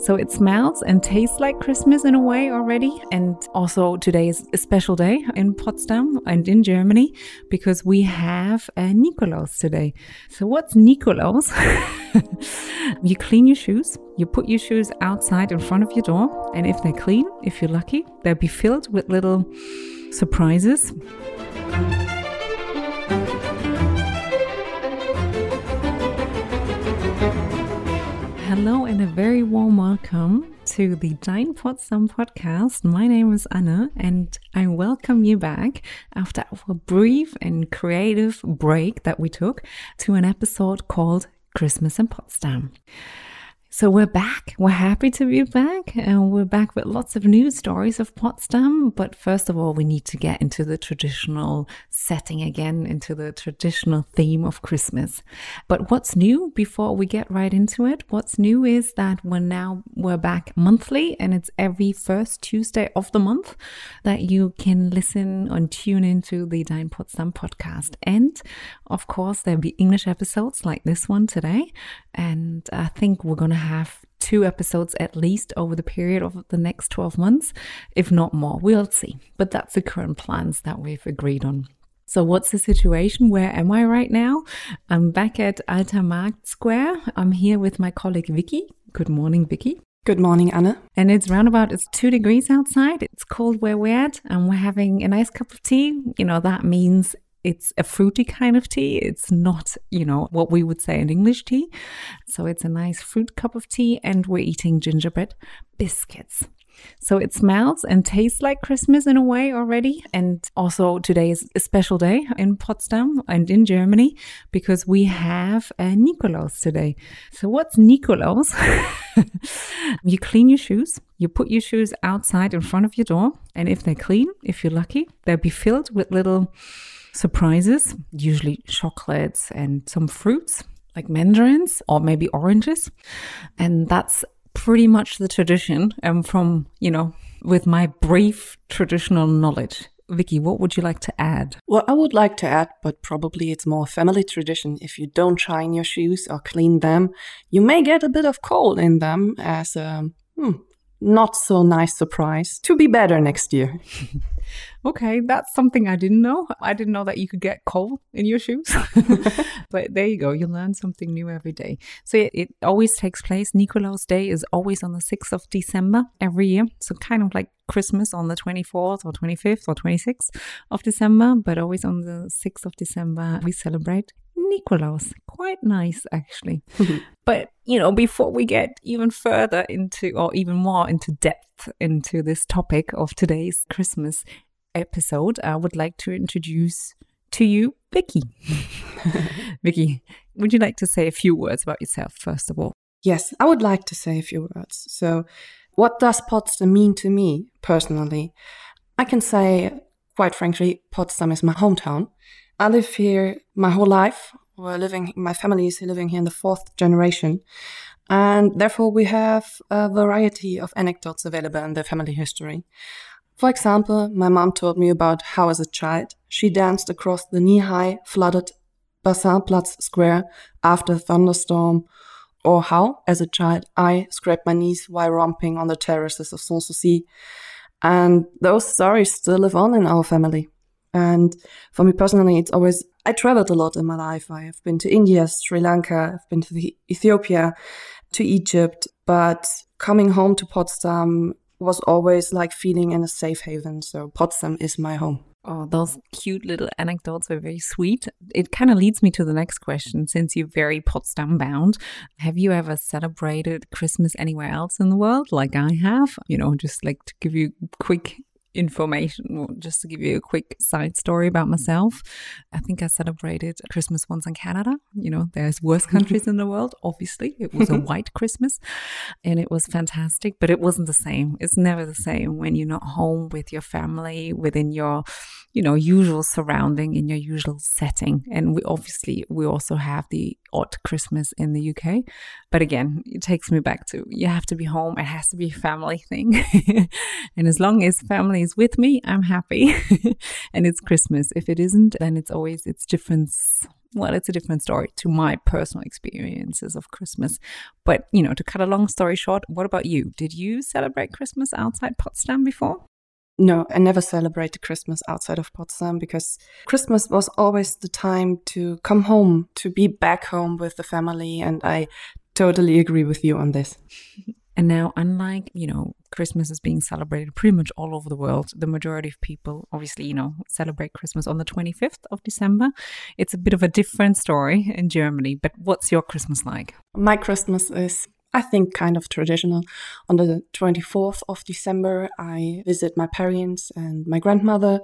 So it smells and tastes like Christmas in a way already. And also today is a special day in Potsdam and in Germany because we have a Nikolaus today. So what's Nikolaus? You clean your shoes. You put your shoes outside in front of your door. And if they're clean, if you're lucky, they'll be filled with little surprises. Hello and a very warm welcome to the Dein Potsdam podcast. My name is Anna and I welcome you back after our brief and creative break that we took to an episode called Christmas in Potsdam. So we're back. We're happy to be back, and we're back with lots of news stories of Potsdam. But first of all, we need to get into the traditional setting again, into the traditional theme of Christmas. But what's new before we get right into it? What's new is that we're back monthly, and it's every first Tuesday of the month that you can listen and tune into the Dein Potsdam podcast. And of course, there'll be English episodes like this one today. And I think we're going to have 2 episodes at least over the period of the next 12 months, if not more. We'll see. But that's the current plans that we've agreed on. So what's the situation? Where am I right now? I'm back at Alter Markt Square. I'm here with my colleague Vicky. Good morning, Vicky. Good morning, Anna. And it's 2 degrees outside. It's cold where we're at, and we're having a nice cup of tea. You know, that means it's a fruity kind of tea. It's not, what we would say an English tea. So it's a nice fruit cup of tea, and we're eating gingerbread biscuits. So it smells and tastes like Christmas in a way already. And also today is a special day in Potsdam and in Germany because we have a Nikolaus today. So what's Nikolaus? You clean your shoes. You put your shoes outside in front of your door. And if they're clean, if you're lucky, they'll be filled with little surprises, usually chocolates and some fruits like mandarins or maybe oranges. And that's pretty much the tradition from, with my brief traditional knowledge. Vicky, what would you like to add? Well, I would like to add, but probably it's more family tradition. If you don't shine your shoes or clean them, you may get a bit of coal in them as a not so nice surprise to be better next year. Okay, that's something I didn't know. I didn't know that you could get coal in your shoes. But there you go. You learn something new every day. So it always takes place. Nikolaus Day is always on the 6th of December every year. So kind of like Christmas on the 24th or 25th or 26th of December. But always on the 6th of December, we celebrate Nikolaus. Quite nice, actually. But, before we get even further into or even more into depth into this topic of today's Christmas episode, I would like to introduce to you Vicky. Vicky, would you like to say a few words about yourself, first of all? Yes, I would like to say a few words. So what does Potsdam mean to me personally? I can say, quite frankly, Potsdam is my hometown. I live here my whole life. My family is living here in the 4th generation. And therefore, we have a variety of anecdotes available in the family history. For example, my mom told me about how as a child, she danced across the knee-high flooded Bassinplatz Square after a thunderstorm, or how, as a child, I scraped my knees while romping on the terraces of Sanssouci. And those stories still live on in our family. And for me personally, I traveled a lot in my life. I have been to India, Sri Lanka, I've been to Ethiopia, to Egypt, but coming home to Potsdam was always like feeling in a safe haven. So Potsdam is my home. Oh, those cute little anecdotes are very sweet. It kind of leads me to the next question. Since you're very Potsdam bound, have you ever celebrated Christmas anywhere else in the world like I have? Just like to give you quick information, just to give you a quick side story about myself. I think I celebrated Christmas once in Canada. There's worse countries in the world, obviously. It was a white Christmas and it was fantastic, but it wasn't the same. It's never the same when you're not home with your family, within your, usual surrounding, in your usual setting. And we also have the odd Christmas in the UK. But again, it takes me back to, you have to be home. It has to be a family thing. And as long as family is with me, I'm happy. And it's Christmas. If it isn't, then it's different well, it's a different story to my personal experiences of Christmas. But, you know, to cut a long story short, what about you? Did you celebrate Christmas outside Potsdam before? No, I never celebrated Christmas outside of Potsdam because Christmas was always the time to come home, to be back home with the family. And I totally agree with you on this. And now, unlike, you know, Christmas is being celebrated pretty much all over the world, the majority of people obviously, you know, celebrate Christmas on the 25th of December. It's a bit of a different story in Germany. But what's your Christmas like? My Christmas is, I think, kind of traditional. On the 24th of December, I visit my parents and my grandmother.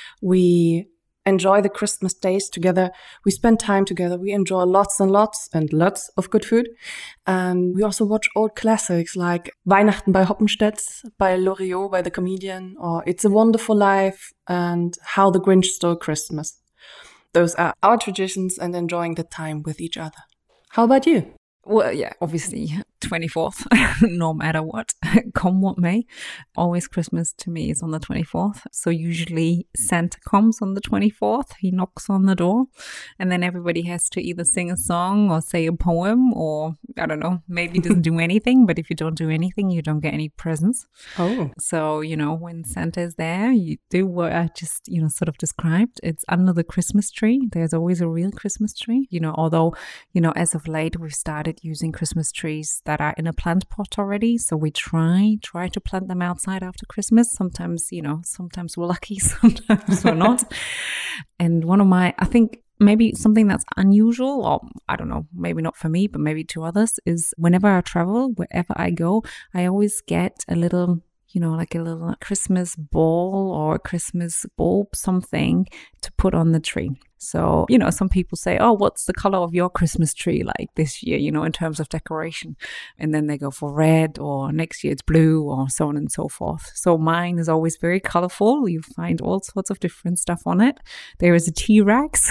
We enjoy the Christmas days together. We spend time together. We enjoy lots and lots and lots of good food. And we also watch old classics like Weihnachten bei Hoppenstedt, by Loriot, by the comedian, or It's a Wonderful Life and How the Grinch Stole Christmas. Those are our traditions and enjoying the time with each other. How about you? Well, yeah, obviously 24th, no matter what, come what may. Always Christmas to me is on the 24th. So usually Santa comes on the 24th. He knocks on the door and then everybody has to either sing a song or say a poem or, I don't know, maybe doesn't do anything. But if you don't do anything, you don't get any presents. Oh. So, you know, when Santa is there, you do what I just, you know, sort of described. It's under the Christmas tree. There's always a real Christmas tree, you know, although, you know, as of late, we've started using Christmas trees that are in a plant pot already. So we try to plant them outside after Christmas. Sometimes, you know, sometimes we're lucky, sometimes we're not. And one of my, I think maybe something that's unusual, or I don't know, maybe not for me, but maybe to others, is whenever I travel, wherever I go, I always get a little, you know, like a little Christmas ball or a Christmas bulb, something to put on the tree. So, you know, some people say, oh, what's the color of your Christmas tree like this year, you know, in terms of decoration? And then they go for red, or next year it's blue, or so on and so forth. So mine is always very colorful. You find all sorts of different stuff on it. There is a T-Rex.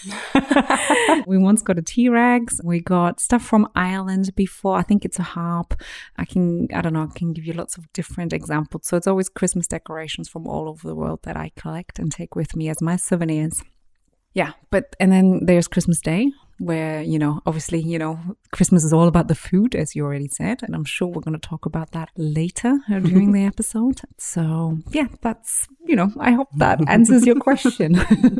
We once got a T-Rex. We got stuff from Ireland before. I think it's a harp. I can give you lots of different examples. So it's always Christmas decorations from all over the world that I collect and take with me as my souvenirs. Yeah, and then there's Christmas Day, where, you know, obviously, you know, Christmas is all about the food, as you already said. And I'm sure we're going to talk about that later during the episode. So, yeah, that's, you know, I hope that answers your question.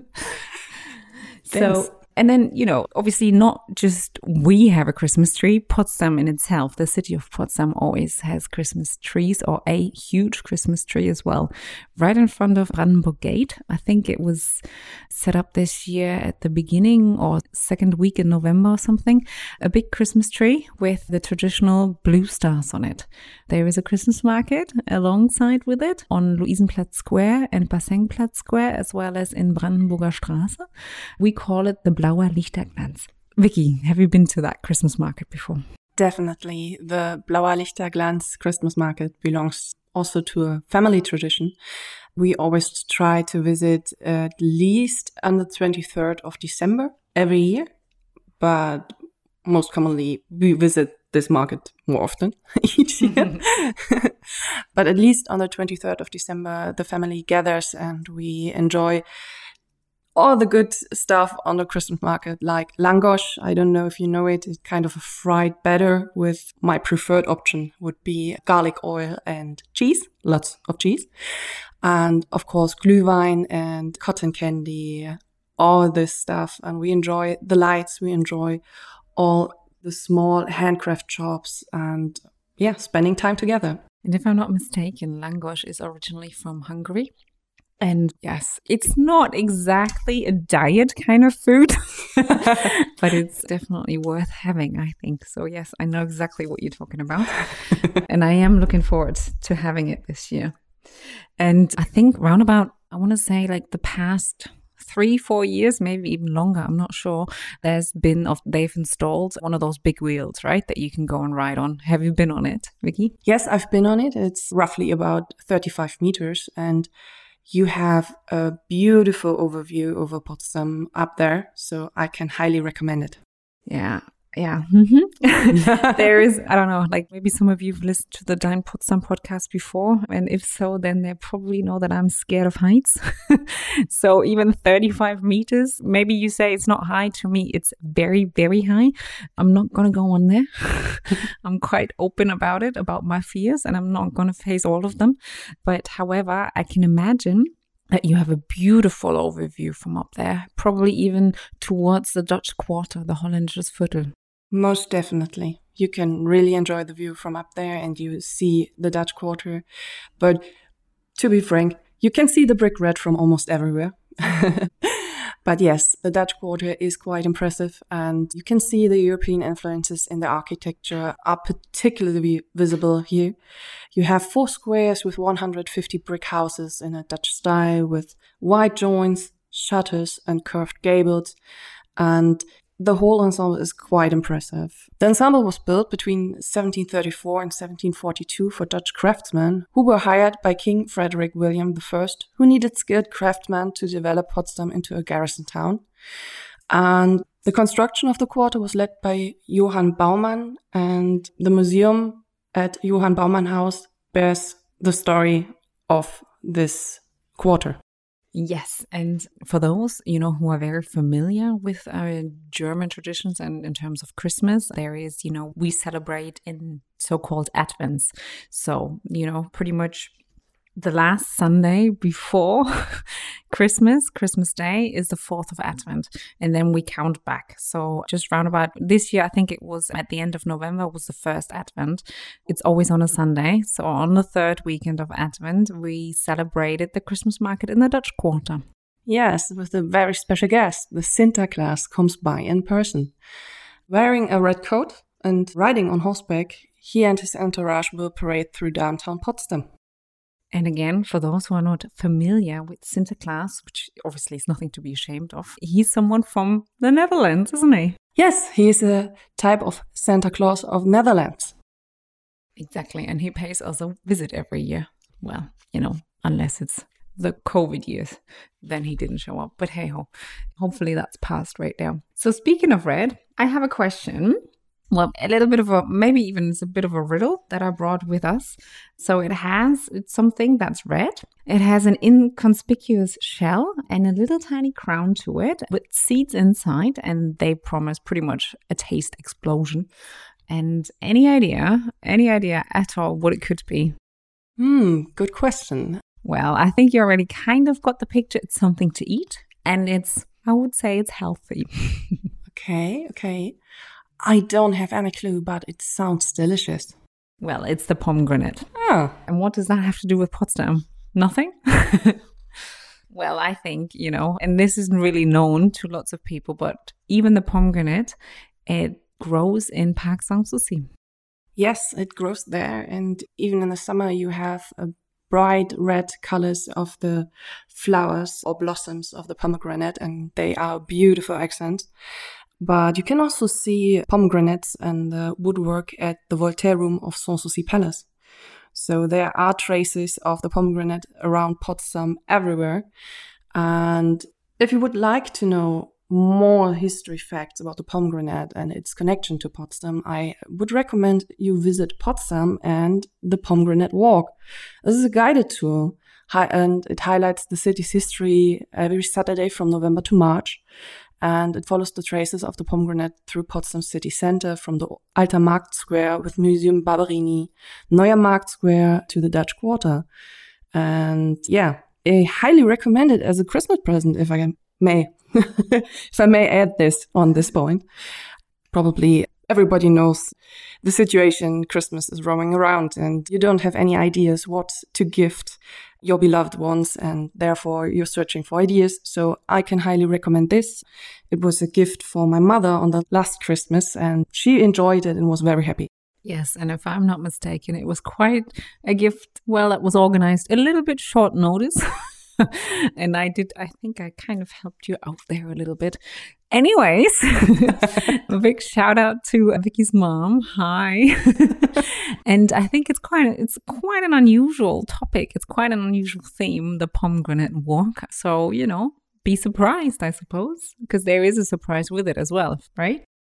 So, and then, you know, obviously not just we have a Christmas tree. Potsdam in itself, the city of Potsdam, always has Christmas trees, or a huge Christmas tree as well, right in front of Brandenburg Gate. I think it was set up this year at the beginning or second week in November or something. A big Christmas tree with the traditional blue stars on it. There is a Christmas market alongside with it on Luisenplatz Square and Bassenplatz Square, as well as in Brandenburger Straße. We call it the Blauer Lichterglanz. Vicky, have you been to that Christmas market before? Definitely. The Blauer Lichterglanz Christmas market belongs also to a family tradition. We always try to visit at least on the 23rd of December every year, but most commonly we visit this market more often each year. But at least on the 23rd of December, the family gathers and we enjoy all the good stuff on the Christmas market, like langosh. I don't know if you know it. It's kind of a fried batter with my preferred option would be garlic oil and cheese, lots of cheese. And of course, glühwein and cotton candy, all this stuff. And we enjoy the lights. We enjoy all the small handcraft shops and, yeah, spending time together. And if I'm not mistaken, langosh is originally from Hungary. And yes, it's not exactly a diet kind of food, but it's definitely worth having, I think. So yes, I know exactly what you're talking about. And I am looking forward to having it this year. And I think round about, I want to say like the past 3-4 years, maybe even longer, I'm not sure, they've installed one of those big wheels, right, that you can go and ride on. Have you been on it, Vicky? Yes, I've been on it. It's roughly about 35 meters and you have a beautiful overview over Potsdam up there, so I can highly recommend it. Yeah, Yeah. There is, I don't know, like maybe some of you have listened to the Dein Potsdam podcast before. And if so, then they probably know that I'm scared of heights. So even 35 meters, maybe you say it's not high. To me, it's very, very high. I'm not going to go on there. I'm quite open about it, about my fears, and I'm not going to face all of them. But however, I can imagine that you have a beautiful overview from up there, probably even towards the Dutch Quarter, the Hollandersviertel. Viertel. Most definitely. You can really enjoy the view from up there and you see the Dutch Quarter. But to be frank, you can see the brick red from almost everywhere. But yes, the Dutch Quarter is quite impressive and you can see the European influences in the architecture are particularly visible here. You have 4 squares with 150 brick houses in a Dutch style with wide joints, shutters and curved gables, and the whole ensemble is quite impressive. The ensemble was built between 1734 and 1742 for Dutch craftsmen who were hired by King Frederick William I, who needed skilled craftsmen to develop Potsdam into a garrison town. And the construction of the quarter was led by Johann Baumann, and the museum at Johann Baumann House bears the story of this quarter. Yes, and for those, who are very familiar with German traditions and in terms of Christmas, there is, we celebrate in so-called Advents. So, pretty much the last Sunday before Christmas Day is the 4th of Advent, and then we count back. So just round about this year, I think it was at the end of November was the first Advent. It's always on a Sunday. So on the 3rd weekend of Advent, we celebrated the Christmas market in the Dutch Quarter. Yes, with a very special guest. The Sinterklaas comes by in person. Wearing a red coat and riding on horseback, he and his entourage will parade through downtown Potsdam. And again, for those who are not familiar with Sinterklaas, which obviously is nothing to be ashamed of, he's someone from the Netherlands, isn't he? Yes, he is a type of Santa Claus of Netherlands. Exactly, and he pays us a visit every year. Well, unless it's the COVID years, then he didn't show up. But hey-ho, hopefully that's passed right now. So speaking of red, I have a question. Well, a little bit of maybe even it's a bit of a riddle that I brought with us. So it's something that's red. It has an inconspicuous shell and a little tiny crown to it with seeds inside, and they promise pretty much a taste explosion. And any idea at all what it could be? Good question. Well, I think you already kind of got the picture. It's something to eat, and I would say it's healthy. Okay. I don't have any clue, but it sounds delicious. Well, it's the pomegranate. Oh. And what does that have to do with Potsdam? Nothing? Well, I think, and this isn't really known to lots of people, but even the pomegranate, it grows in Park Sanssouci. Yes, it grows there. And even in the summer, you have a bright red colors of the flowers or blossoms of the pomegranate, and they are beautiful accents. But you can also see pomegranates and the woodwork at the Voltaire Room of Sanssouci Palace. So there are traces of the pomegranate around Potsdam everywhere. And if you would like to know more history facts about the pomegranate and its connection to Potsdam, I would recommend you visit Potsdam and the Pomegranate Walk. This is a guided tour, and it highlights the city's history every Saturday from November to March. And it follows the traces of the pomegranate through Potsdam city center from the Alter Markt Square with Museum Barberini, Neuer Markt Square to the Dutch Quarter. And yeah, I highly recommend it as a Christmas present, if I may. If I may add this on this point. Probably everybody knows the situation. Christmas is roaming around and you don't have any ideas what to gift your beloved ones, and therefore you're searching for ideas. So I can highly recommend this. It was a gift for my mother on the last Christmas and she enjoyed it and was very happy. Yes, and if I'm not mistaken, it was quite a gift, that was organized a little bit short notice. And I think I kind of helped you out there a little bit. Anyways, a big shout out to Vicky's mom. Hi. And I think it's quite an unusual topic. It's quite an unusual theme, the pomegranate walk. So, be surprised, I suppose, because there is a surprise with it as well, right?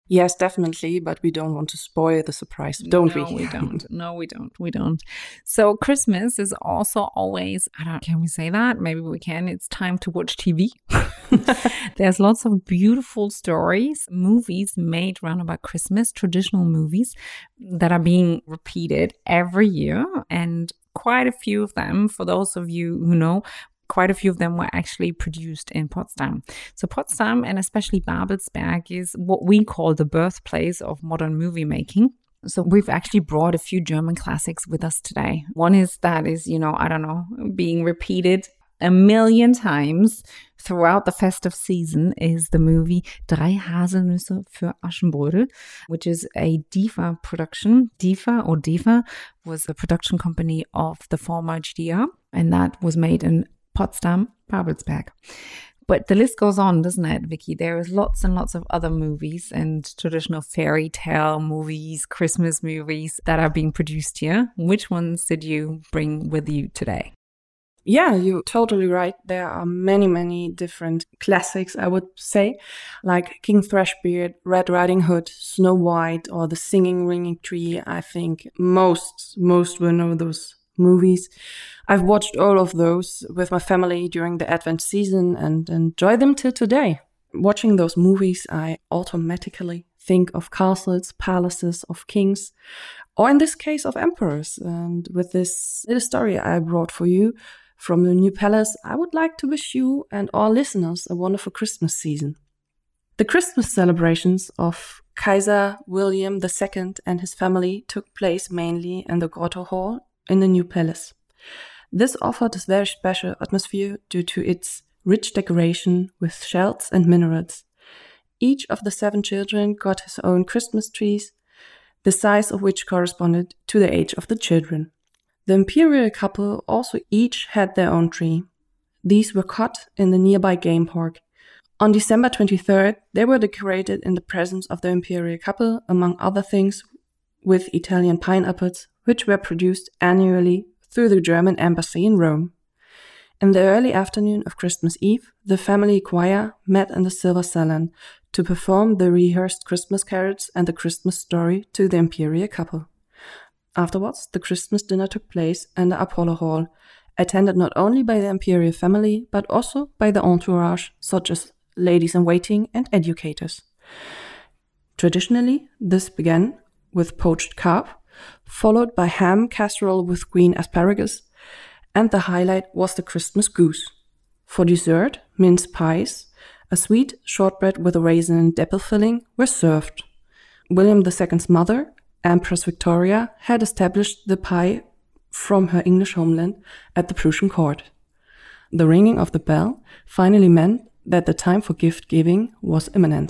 Yes, definitely, but we don't want to spoil the surprise, don't we? No, we don't. No, we don't. We don't. So Christmas is also always, can we say that? Maybe we can. It's time to watch TV. There's lots of beautiful stories, movies made around about Christmas, traditional movies that are being repeated every year. And quite a few of them, for those of you who know, quite a few of them were actually produced in Potsdam. So Potsdam, and especially Babelsberg, is what we call the birthplace of modern movie making. So we've actually brought a few German classics with us today. One is being repeated a million times throughout the festive season is the movie Drei Haselnüsse für Aschenbrödel, which is a DEFA production. DEFA was the production company of the former GDR, and that was made in Potsdam, Babelsberg. But the list goes on, doesn't it, Vicky? There is lots and lots of other movies and traditional fairy tale movies, Christmas movies that are being produced here. Which ones did you bring with you today? Yeah, you're totally right. There are many, many different classics, I would say, like King Thrushbeard, Red Riding Hood, Snow White, or The Singing Ringing Tree. I think most will know those movies. I've watched all of those with my family during the Advent season and enjoy them till today. Watching those movies, I automatically think of castles, palaces, of kings, or in this case of emperors. And with this little story I brought for you from the new palace, I would like to wish you and all listeners a wonderful Christmas season. The Christmas celebrations of Kaiser William II and his family took place mainly in the Grotto Hall in the new palace. This offered a very special atmosphere due to its rich decoration with shells and minarets. Each of the 7 children got his own Christmas trees, the size of which corresponded to the age of the children. The imperial couple also each had their own tree. These were cut in the nearby game park. On December 23rd, they were decorated in the presence of the imperial couple, among other things, with Italian pineapples, which were produced annually through the German embassy in Rome. In the early afternoon of Christmas Eve, the family choir met in the Silver Salon to perform the rehearsed Christmas carols and the Christmas story to the imperial couple. Afterwards, the Christmas dinner took place in the Apollo Hall, attended not only by the imperial family, but also by the entourage, such as ladies-in-waiting and educators. Traditionally, this began with poached carp, followed by ham casserole with green asparagus, and the highlight was the Christmas goose. For dessert, mince pies, a sweet shortbread with a raisin and apple filling were served. William II's mother, Empress Victoria, had established the pie from her English homeland at the Prussian court. The ringing of the bell finally meant that the time for gift-giving was imminent.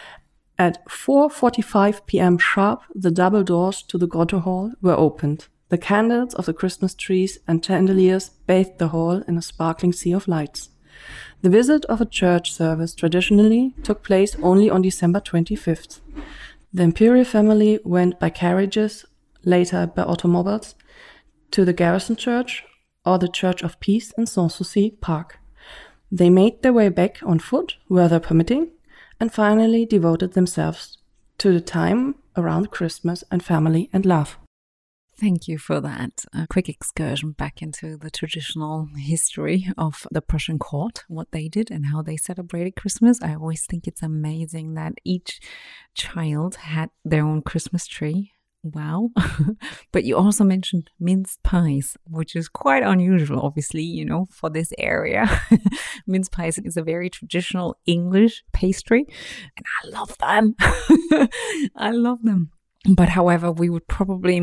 At 4:45 p.m. sharp, the double doors to the Grotto Hall were opened. The candles of the Christmas trees and chandeliers bathed the hall in a sparkling sea of lights. The visit of a church service traditionally took place only on December 25th. The imperial family went by carriages, later by automobiles, to the Garrison Church or the Church of Peace in Sanssouci Park. They made their way back on foot, weather permitting, and finally devoted themselves to the time around Christmas and family and love. Thank you for that quick excursion back into the traditional history of the Prussian court, what they did and how they celebrated Christmas. I always think it's amazing that each child had their own Christmas tree. Wow. But you also mentioned minced pies, which is quite unusual, obviously, for this area. Minced pies is a very traditional English pastry, and I love them. I love them. But however, we would probably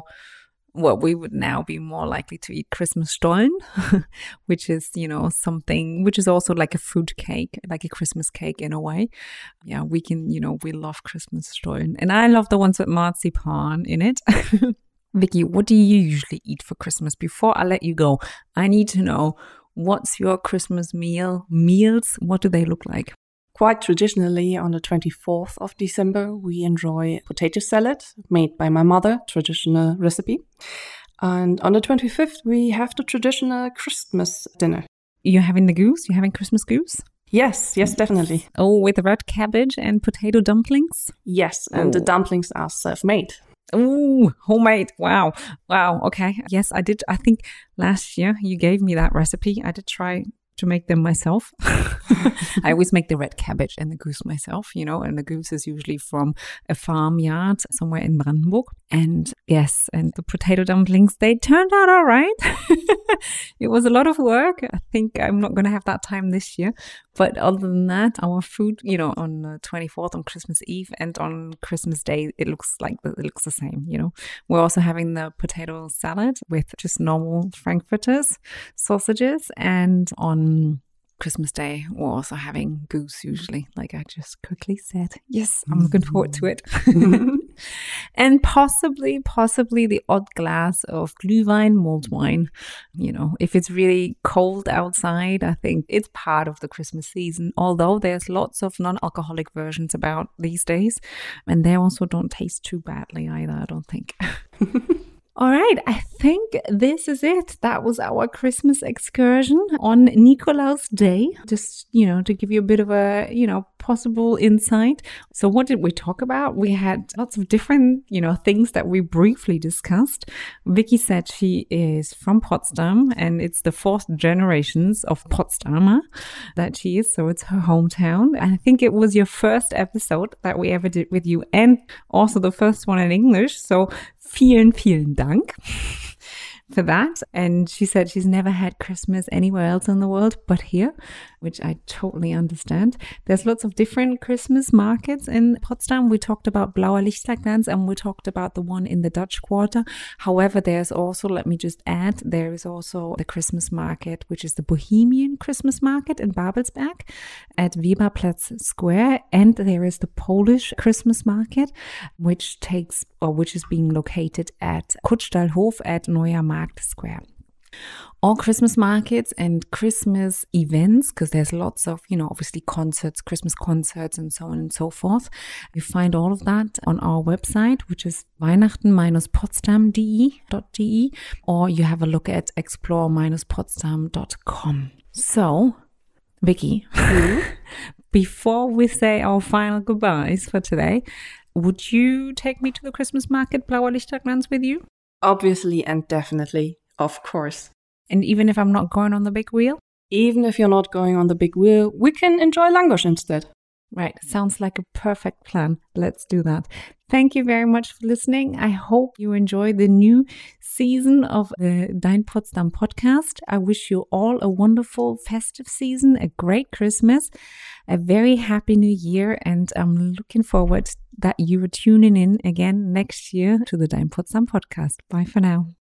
we would now be more likely to eat Christmas Stollen, which is, something which is also like a fruit cake, like a Christmas cake in a way. Yeah, we love Christmas Stollen. And I love the ones with marzipan in it. Vicky, what do you usually eat for Christmas? Before I let you go, I need to know, what's your Christmas meals? What do they look like? Quite traditionally, on the 24th of December, we enjoy potato salad made by my mother, traditional recipe. And on the 25th, we have the traditional Christmas dinner. You're having the goose? You're having Christmas goose? Yes, definitely. Oh, with red cabbage and potato dumplings? Yes, and the dumplings are self-made. Ooh, homemade. Wow. Okay. Yes, I did. I think last year you gave me that recipe. I did try to make them myself. I always make the red cabbage and the goose myself, and the goose is usually from a farmyard somewhere in Brandenburg. And yes, and the potato dumplings, they turned out all right. It was a lot of work. I think I'm not going to have that time this year. But other than that, our food, on the 24th, on Christmas Eve and on Christmas Day, it looks the same, We're also having the potato salad with just normal frankfurters, sausages, and on Christmas Day, we're also having goose usually, like I just quickly said. Yes, I'm looking forward to it. And possibly the odd glass of Glühwein, mulled wine. If it's really cold outside, I think it's part of the Christmas season, although there's lots of non-alcoholic versions about these days, and they also don't taste too badly either, I don't think. All right, I think this is it. That was our Christmas excursion on Nikolaus Day, just, to give you a bit of a, possible insight. So what did we talk about? We had lots of different, things that we briefly discussed. Vicky said she is from Potsdam, and it's the 4th generations of Potsdamer that she is, so it's her hometown. And I think it was your first episode that we ever did with you, and also the first one in English. So vielen Dank for that. And she said she's never had Christmas anywhere else in the world but here, which I totally understand. There's lots of different Christmas markets in Potsdam. We talked about Blauer Lichterglanz and we talked about the one in the Dutch Quarter. However, there's also, let me just add, there is also the Christmas market, which is the Bohemian Christmas market in Babelsberg at Weberplatz Square. And there is the Polish Christmas market, which is being located at Kutschtalhof at Neuer Markt Square. All Christmas markets and Christmas events, because there's lots of, obviously concerts, Christmas concerts and so on and so forth. You find all of that on our website, which is weihnachten-potsdam.de, or you have a look at explore-potsdam.com. So, Vicky, before we say our final goodbyes for today, would you take me to the Christmas market, Blauer Lichterglanz, with you? Obviously and definitely, of course. And even if I'm not going on the big wheel? Even if you're not going on the big wheel, we can enjoy Langosch instead. Right, sounds like a perfect plan. Let's do that. Thank you very much for listening. I hope you enjoy the new season of the Dein Potsdam podcast. I wish you all a wonderful festive season, a great Christmas, a very happy new year, and I'm looking forward that you are tuning in again next year to the Dein Potsdam podcast. Bye for now.